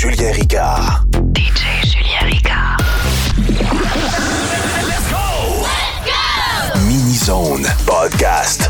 Julien Ricard. DJ Julien Ricard. Let's go! Let's go! Mini Zone Podcast.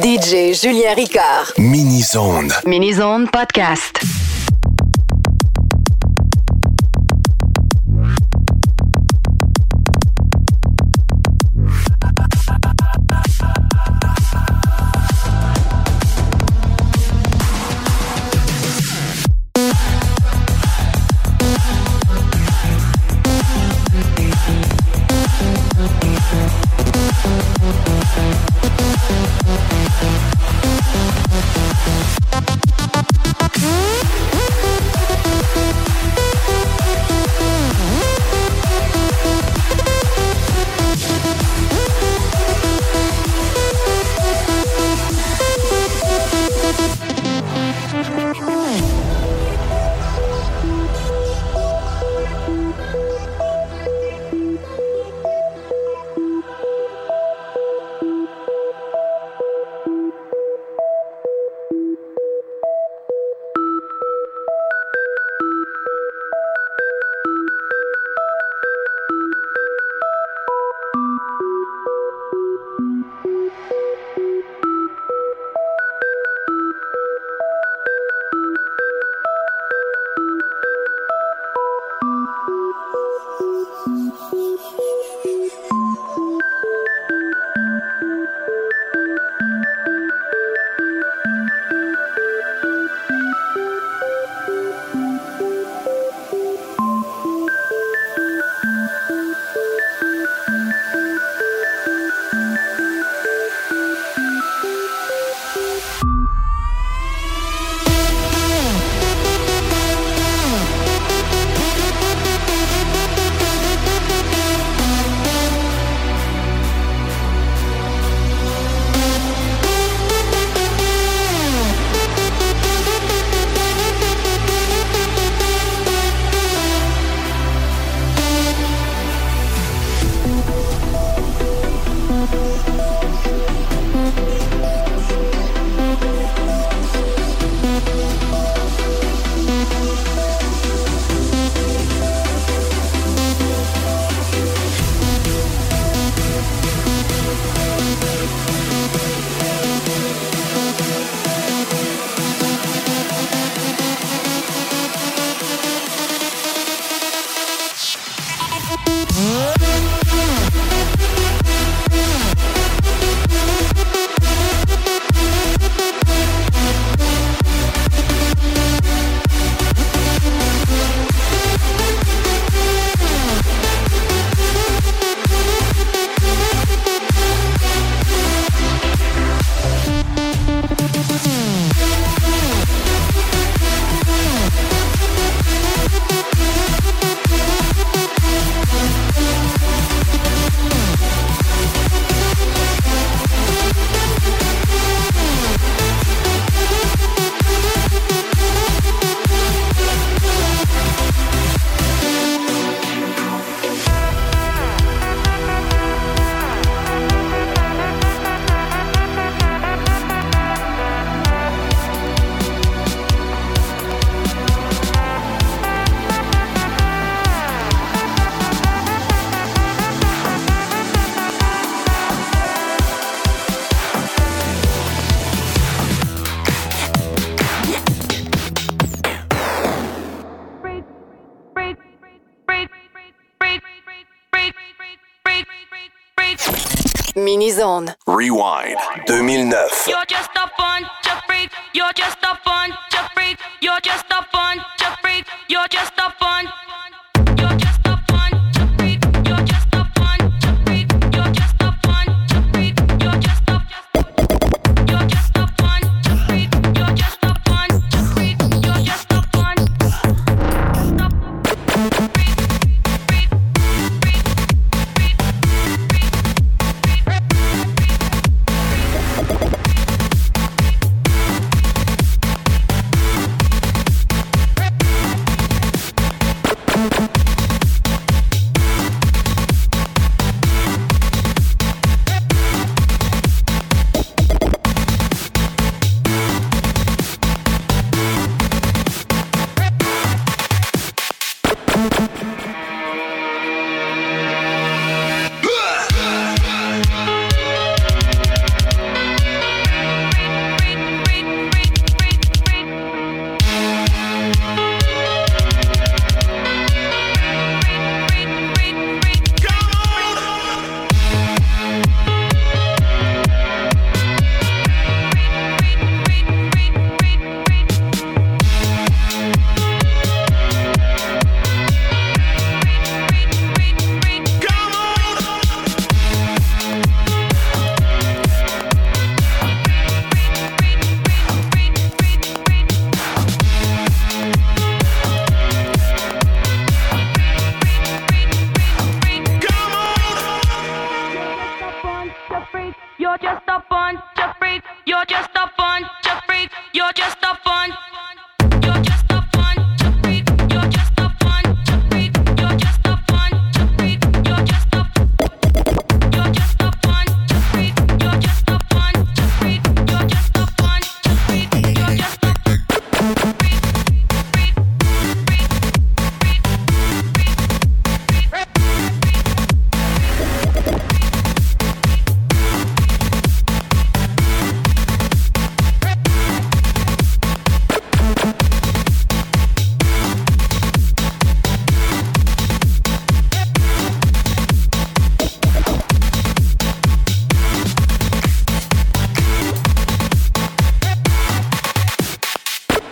DJ Julien Ricard. Mini-Zone. Mini-Zone Podcast. Mini-Zone. Rewind 2009. You're just a bunch of freaks. You're just a bunch of freaks. You're just a bunch of freaks. You're just a bunch. You're just a bunch of freaks. You're just a bunch of freaks. You're just a bunch of freaks. You're just a You're just a bunch of freaks. You're just a bunch of freaks. You're just a bunch.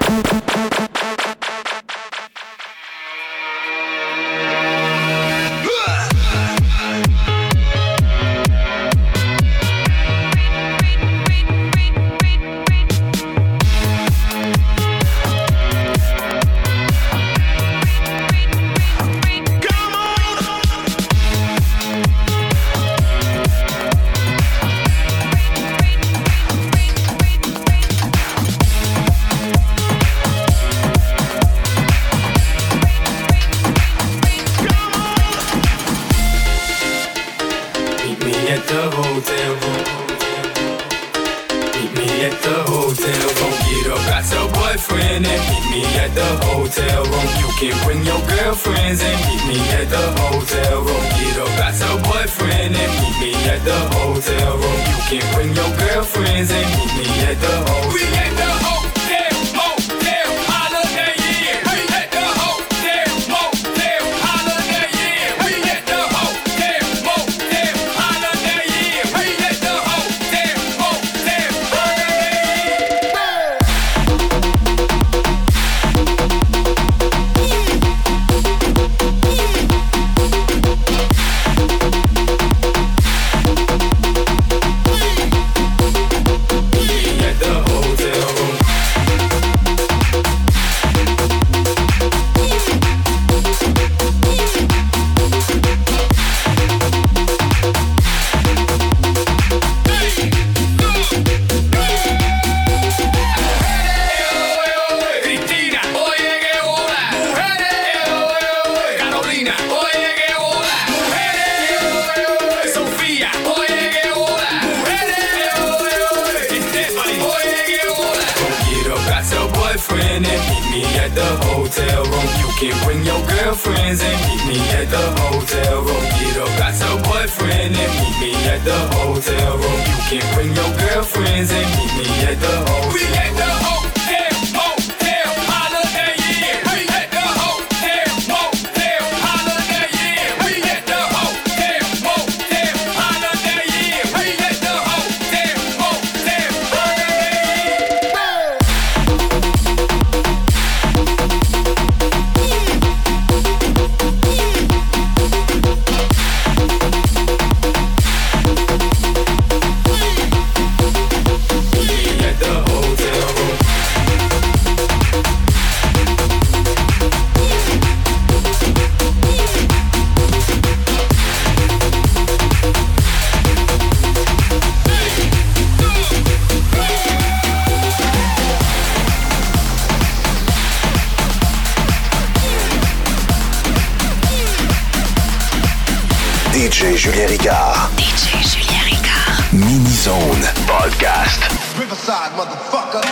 DJ Julien Ricard. DJ Julien Ricard. Mini Zone Podcast. Riverside, motherfucker.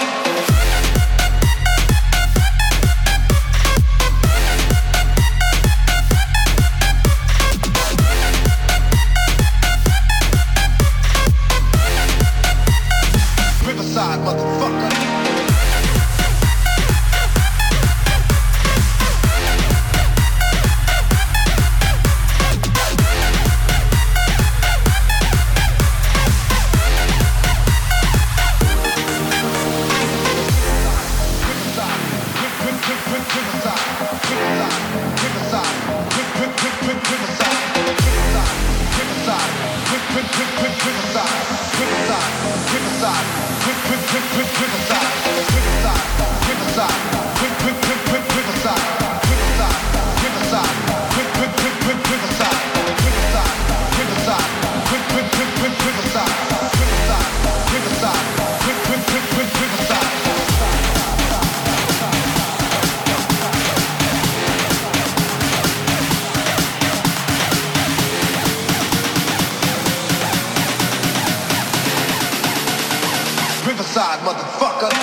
Riverside, motherfucker. Riverside, motherfucker.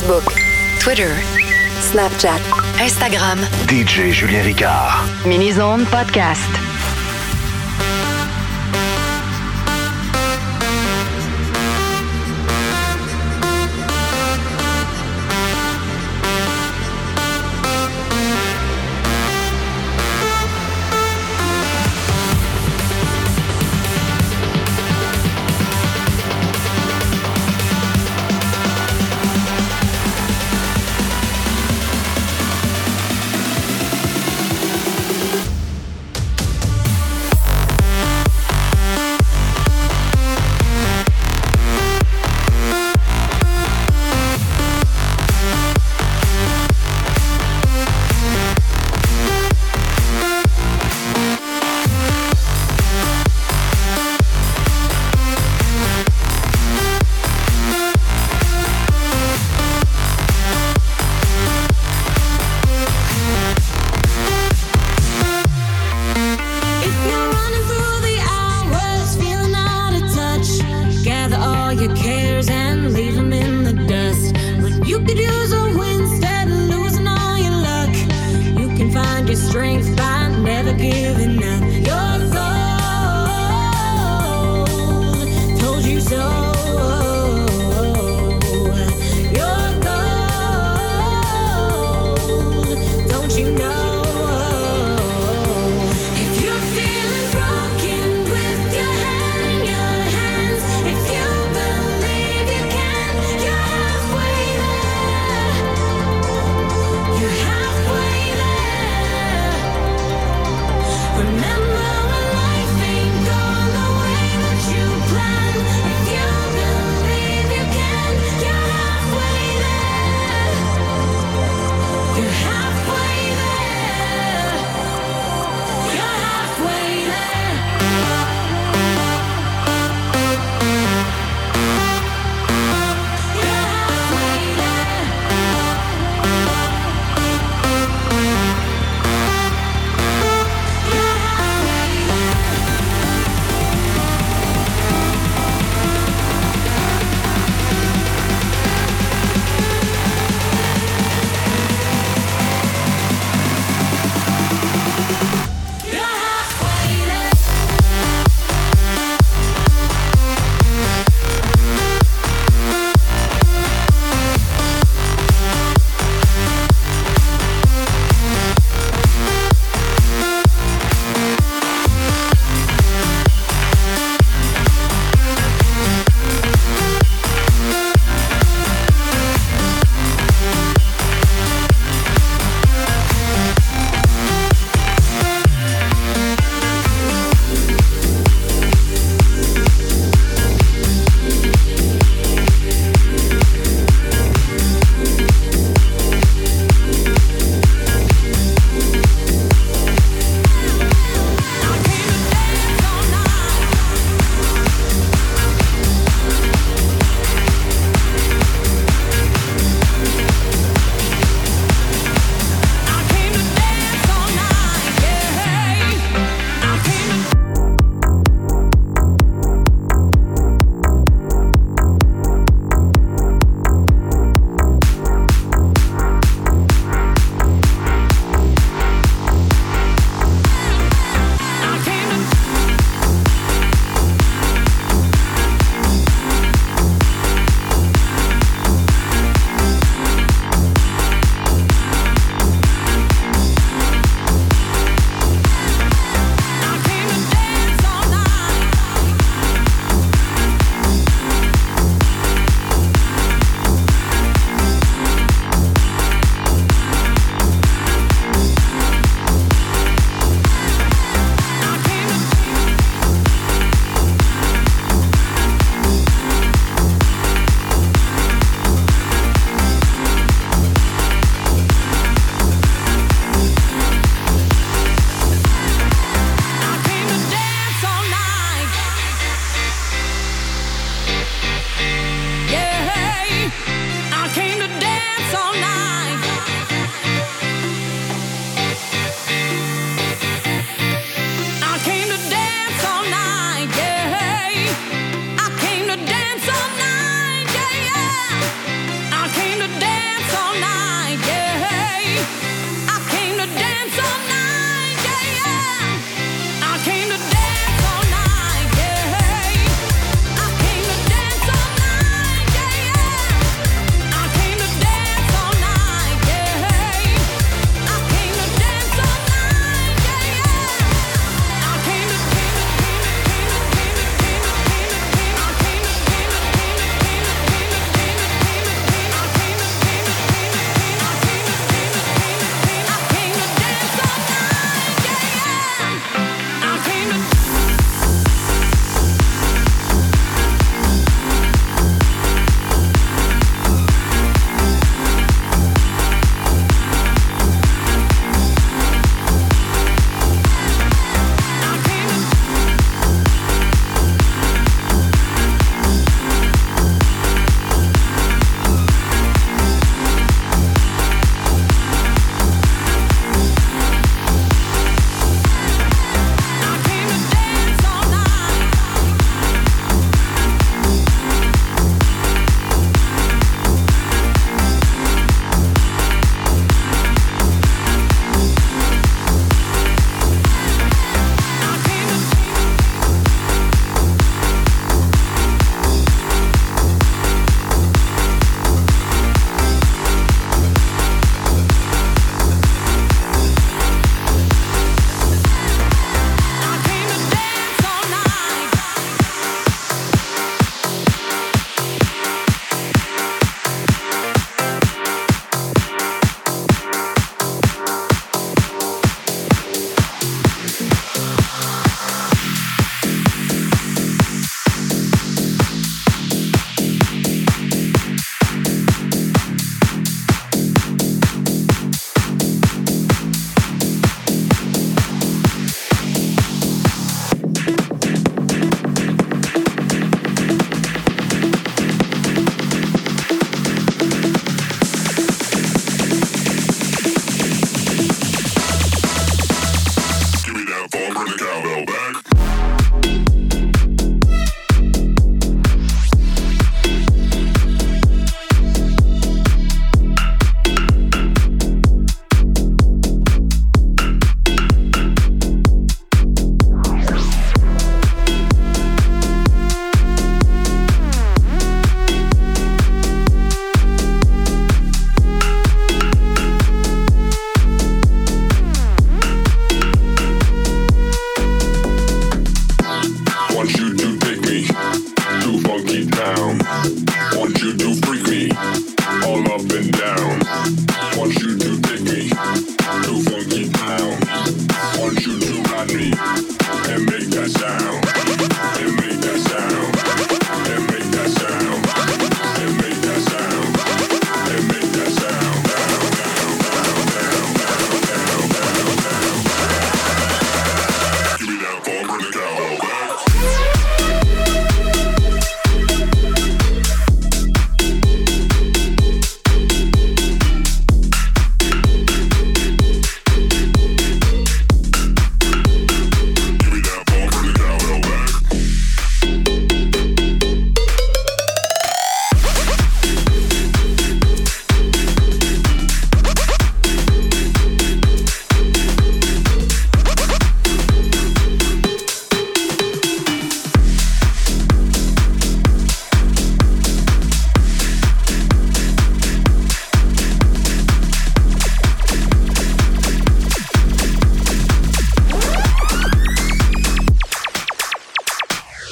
Facebook, Twitter, Snapchat, Instagram. DJ Julien Ricard. Mini-Zone Podcast. If you believe you can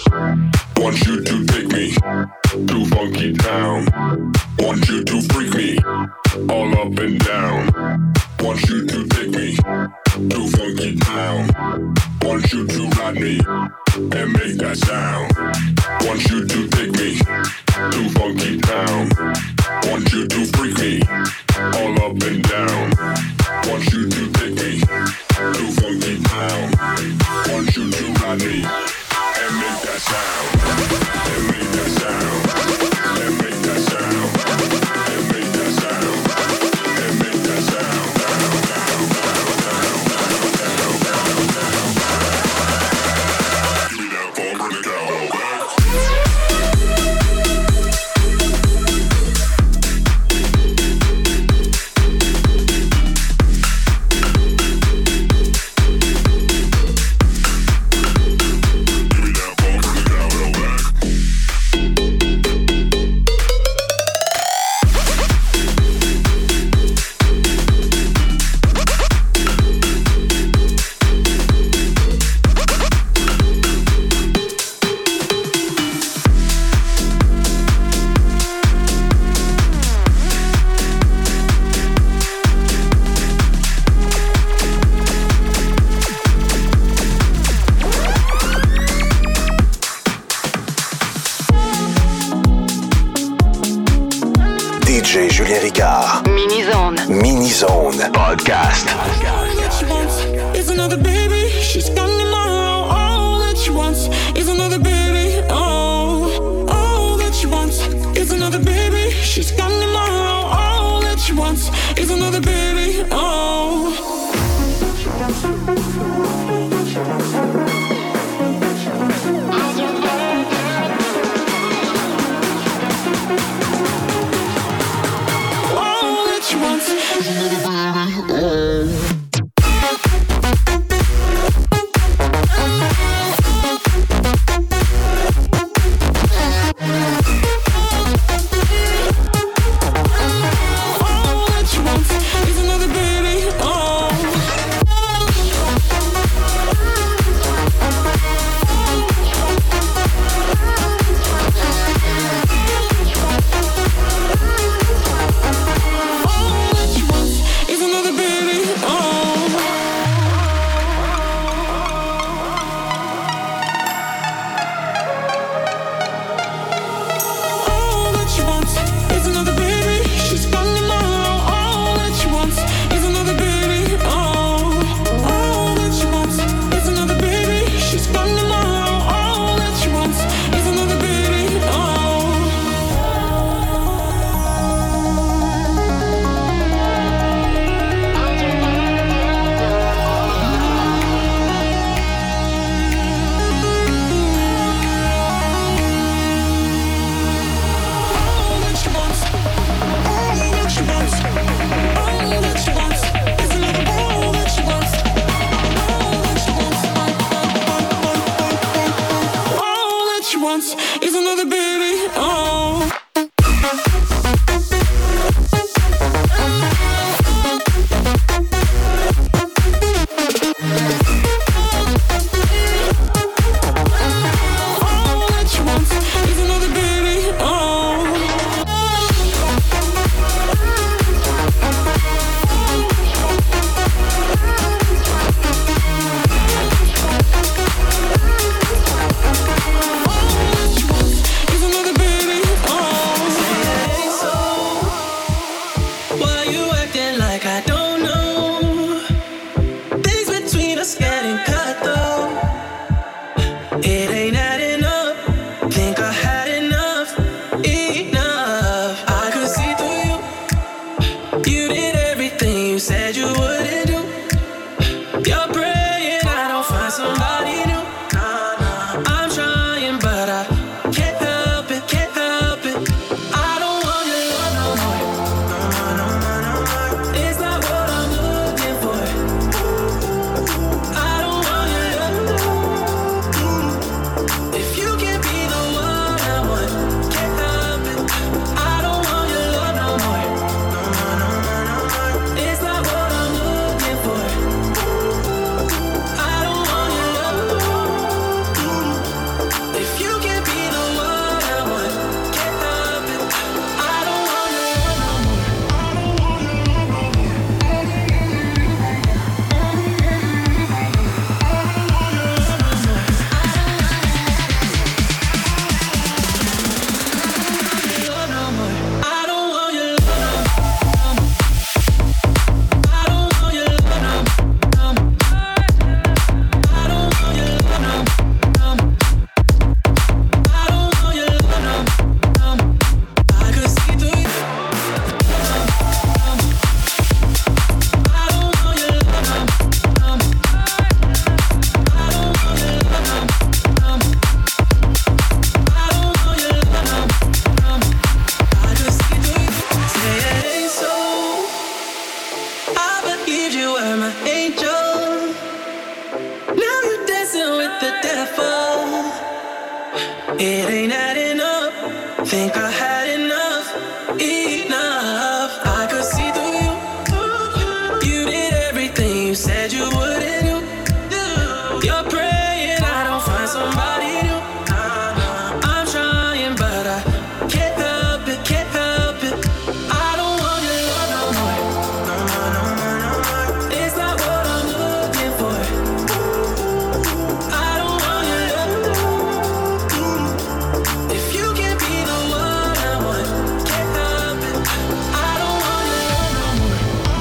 Want you to take me to funky town. Want you to freak me all up and down. Want you to take me to funky town. Want you to ride me and make that sound. Want you to take me to funky town. Want you to freak me all up and down. Want you to take me to funky town. Want you to ride me and make that sound. And make that sound. And make that sound. And make that sound. And make that sound. Give me that phone, bring it down. DJ Julien Ricard. Mini-zone. Mini-zone. Podcast. All that she wants is another baby. She's gone tomorrow. All that she wants is another baby. Oh, all that she wants is another baby. She's gone tomorrow. All that she wants is another baby. Oh. All that she wants is another baby. Oh. Is another baby. Oh. Is another baby. Oh. It ain't adding up. Think I had enough. Enough. I could see through you. You did everything you said you wouldn't do. You're praying I don't find somebody new. I'm trying, but I can't help it, can't help it. I don't want your love no more. No more, no more, no more. It's not what I'm looking for. I don't want your love. If you can't be the one I want, can't help it. I don't want your love no more.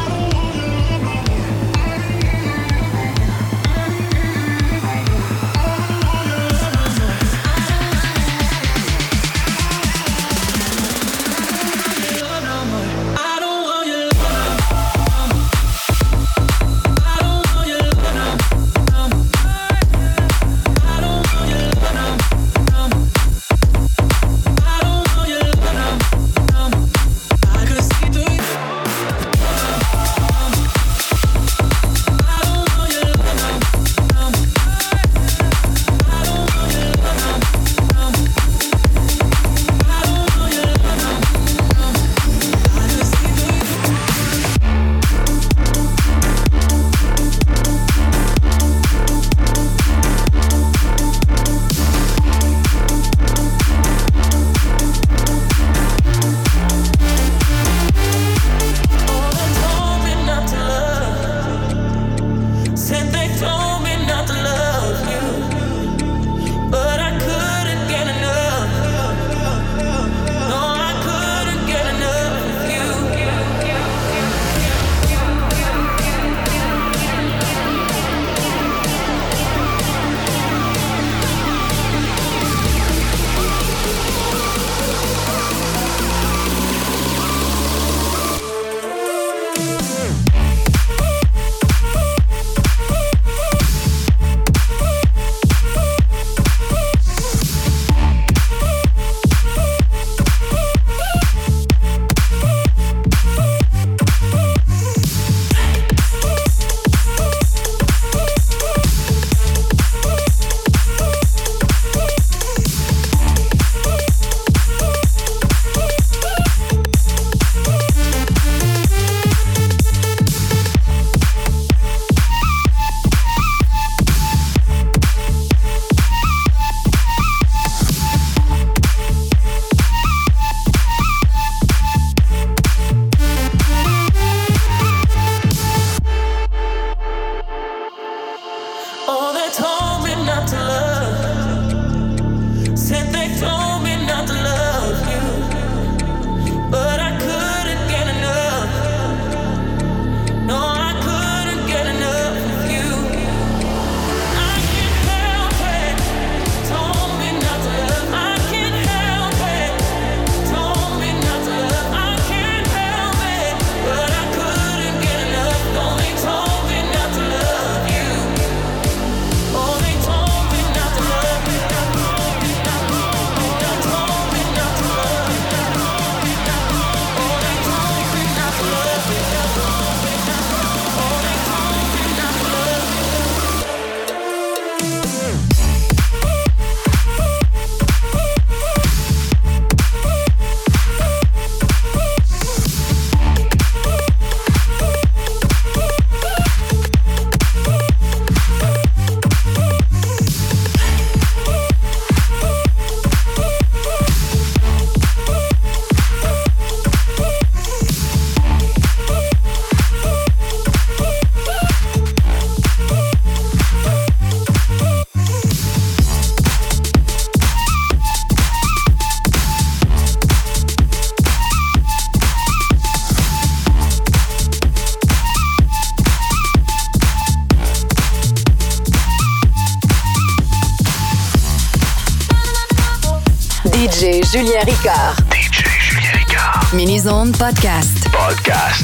DJ Julien Ricard. DJ Julien Ricard. Mini-Zone Podcast. Podcast.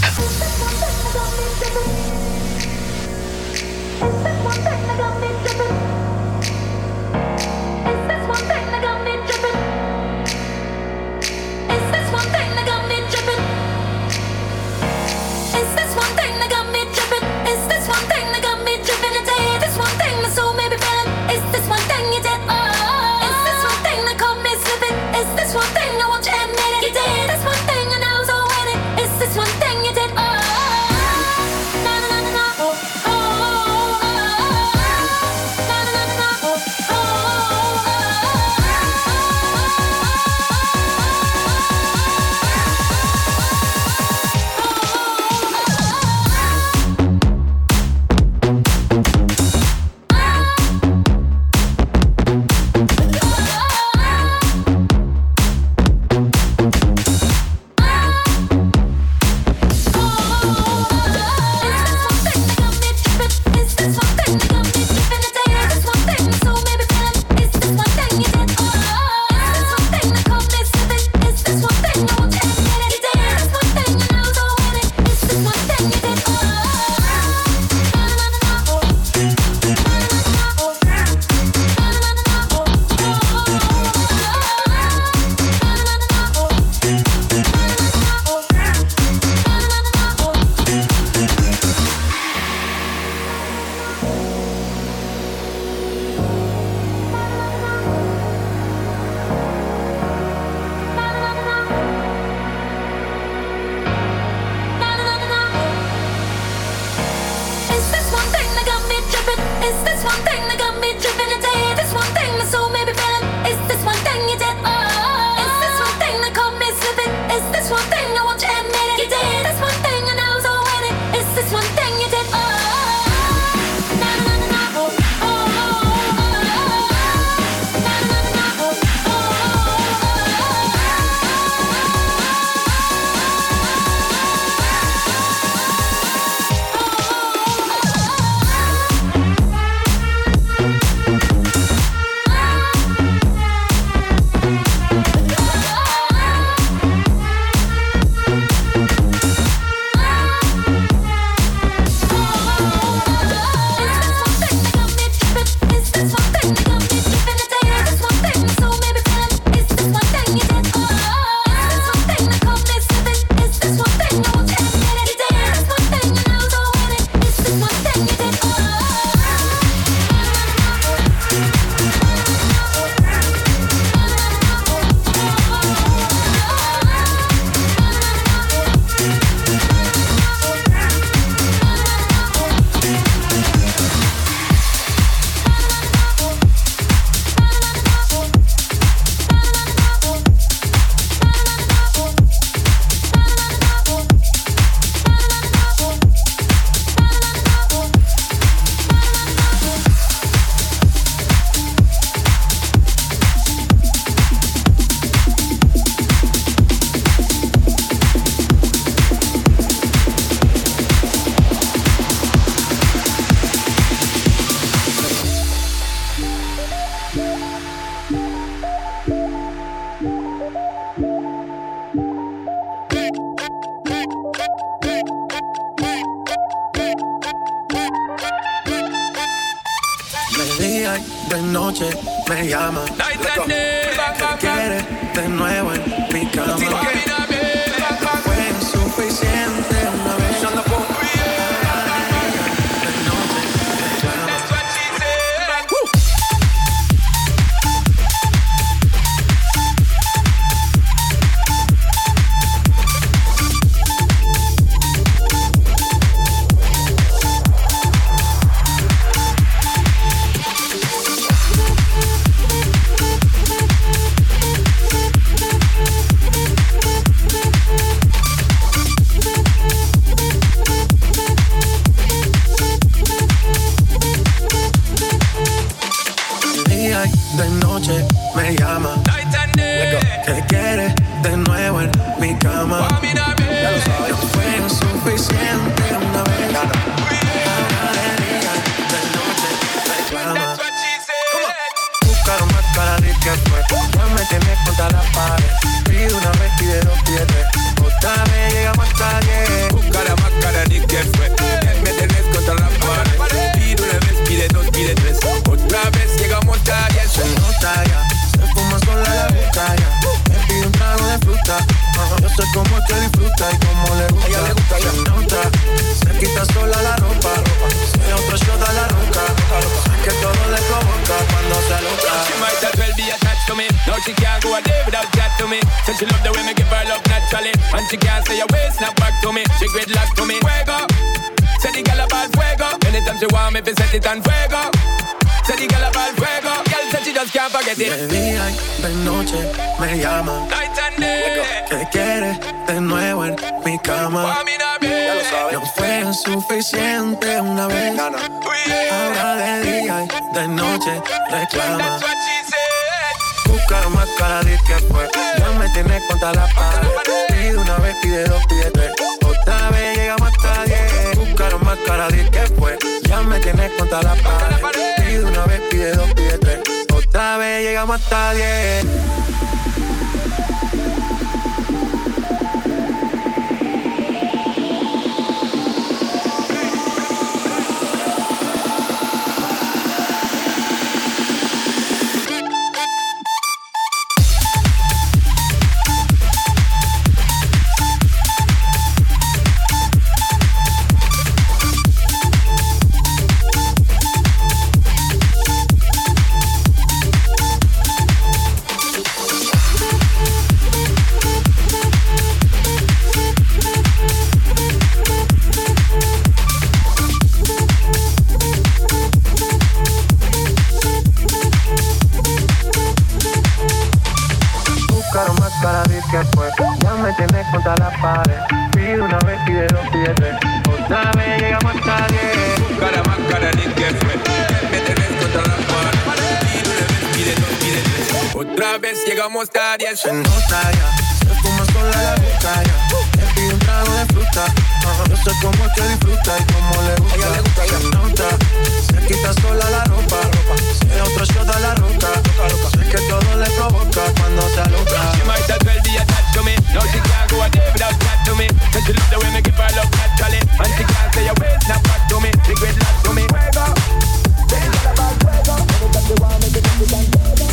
This one thing my soul may be feeling. Is this one thing you did? Is this one thing? de noche me llama. Quiere de nuevo en mi cama. Fue suficiente una vez. De noche me llama. Que quiere de nuevo en mi cama. Ya lo sabes. No fue suficiente una vez. Ahora de día, de noche reclama. Buscaron más cara de que fue. Ya me tienes contra la pared. Pide una vez, pide dos, pide tres. Otra vez llegamos hasta 10. Buscaron más cara de que fue. Ya me tienes contra la pared. Pide una vez, pide dos, pide tres. Otra vez llegamos hasta 10. Se nota ya, se fuma sola la boca ya. Me pide un trago de fruta. Yo soy como el que disfruta y como le gusta. Se nota, se quita sola la ropa. Se otro shot a la roca. Sé que todo le provoca cuando se aloca. She might as well be attached to me. Now she can't go a day without chat to me. Said she love the way me give her love naturally. And she can't say a way, snap back to me. She gridlock to me. Fuego. Say the girl about fuego. Anytime she want me, fi set it on fuego. Say the girl about fuego. Girl said she just can't forget it. De día y de noche me llama. Night and day. Que quiere de nuevo en mi cama. Ya lo sabes. No fue suficiente una vez. Ahora de día y de noche reclama. Buscaron más cara de que fue. Ya me tienes contra la pared. Pide una vez, pide dos, pide tres. Otra vez llegamos hasta 10. Buscaron más cara de que fue. Ya me tienes contra la pared. Pide una vez, pide dos, pide tres. Otra vez llegamos hasta 10. Se nota ya, se fuma sola la boca ya. Me pide un trago de fruta. Yo soy como el que disfruta y como le gusta. Se nota, se quita sola la ropa. Se otro shot a la roca. Sé que todo le provoca cuando se aloca. She might as well be attached to me. Now she can't go a day without chat to me. Said she love the way me give her love naturally. And she can't say a way, snap back to me. She gridlock to me. Fuego. Say it's all about fuego. Anytime you want me to get it on fuego.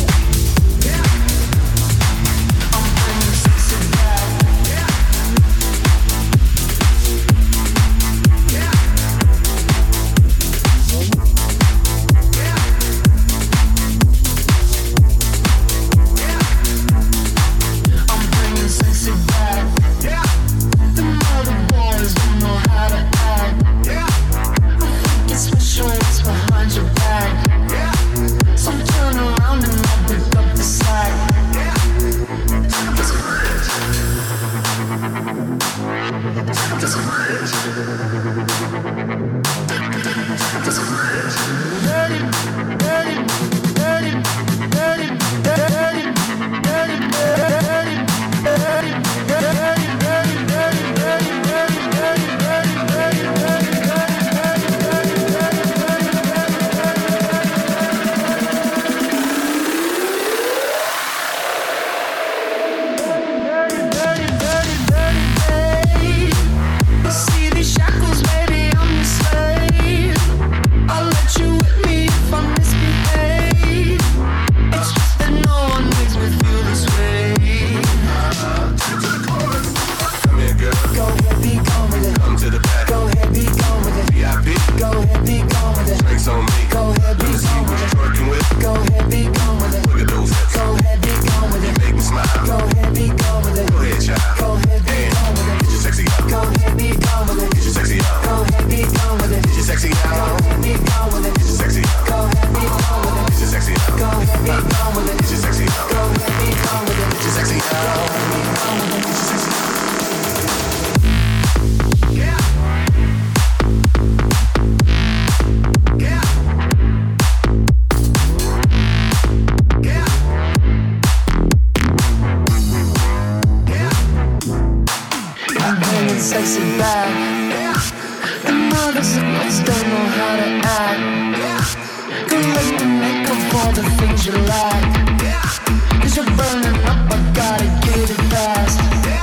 sexy back. The mothers and kids don't know how to act. Go let me make up for the things you lack. Cause you're burning up, I gotta get it fast.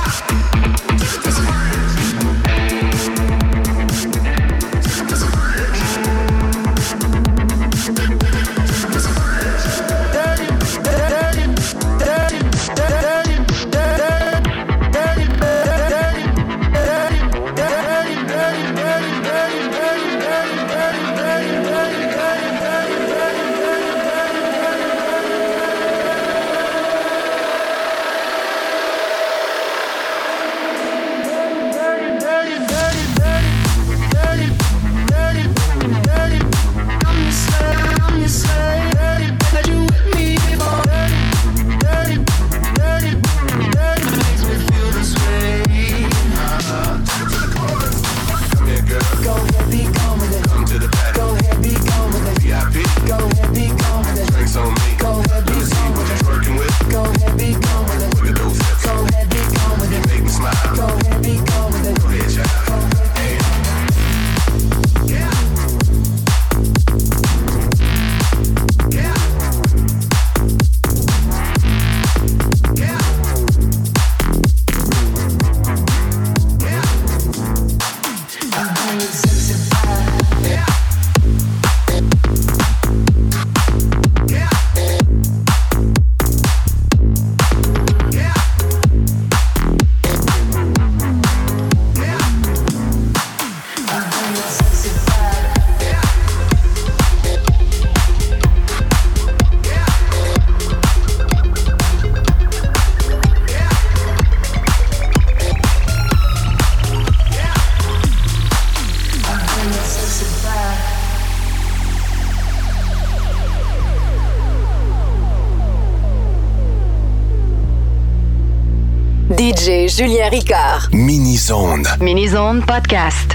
DJ Julien Ricard. Mini-Zone. Mini-Zone Podcast.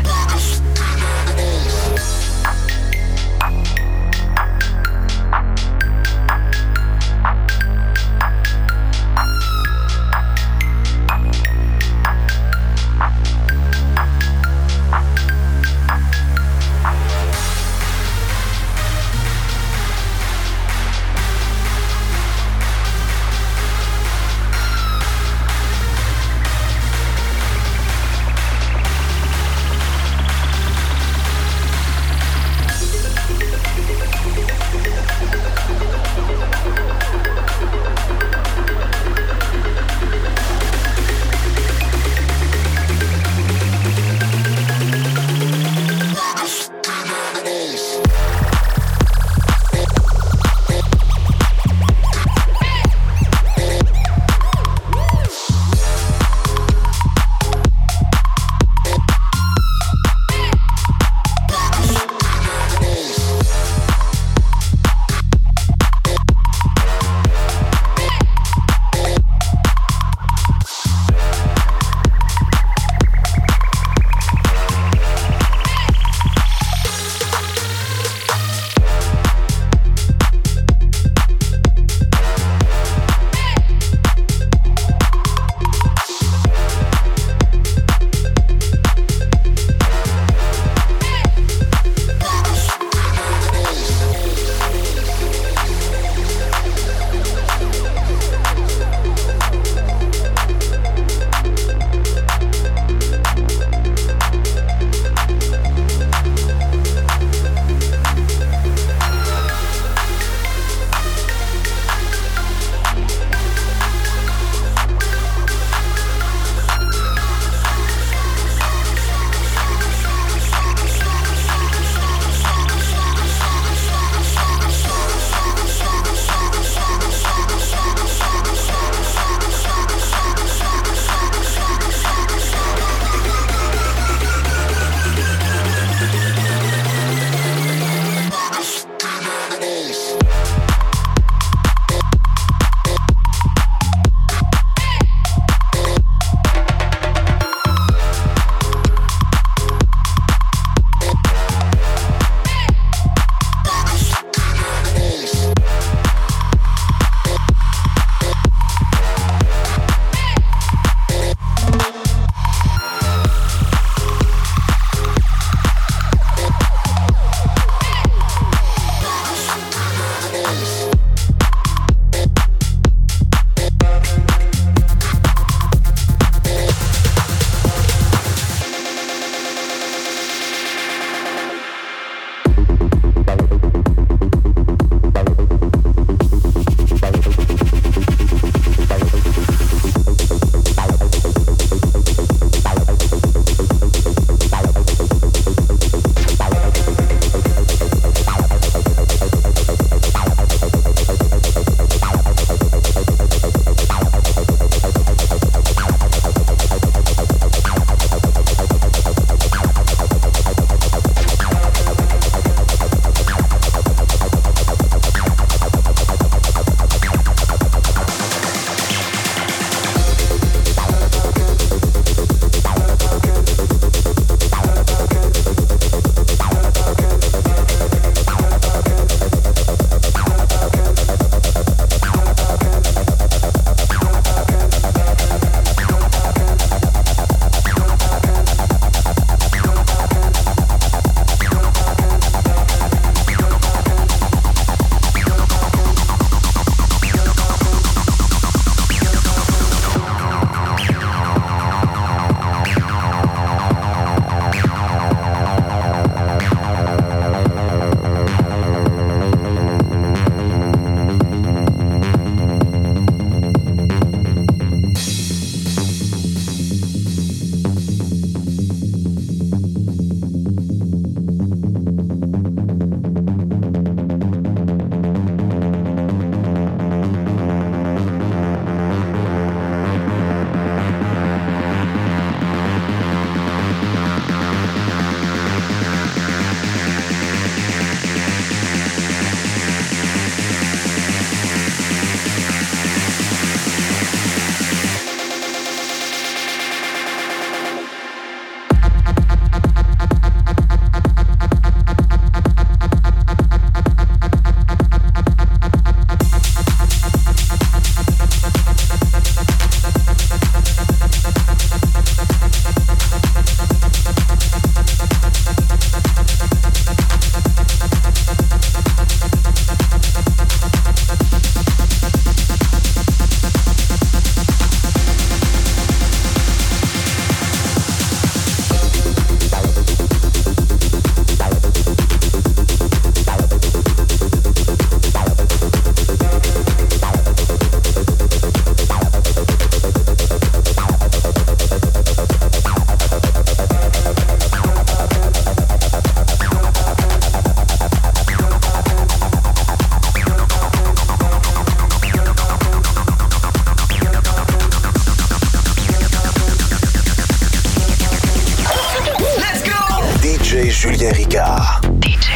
Julien Ricard. DJ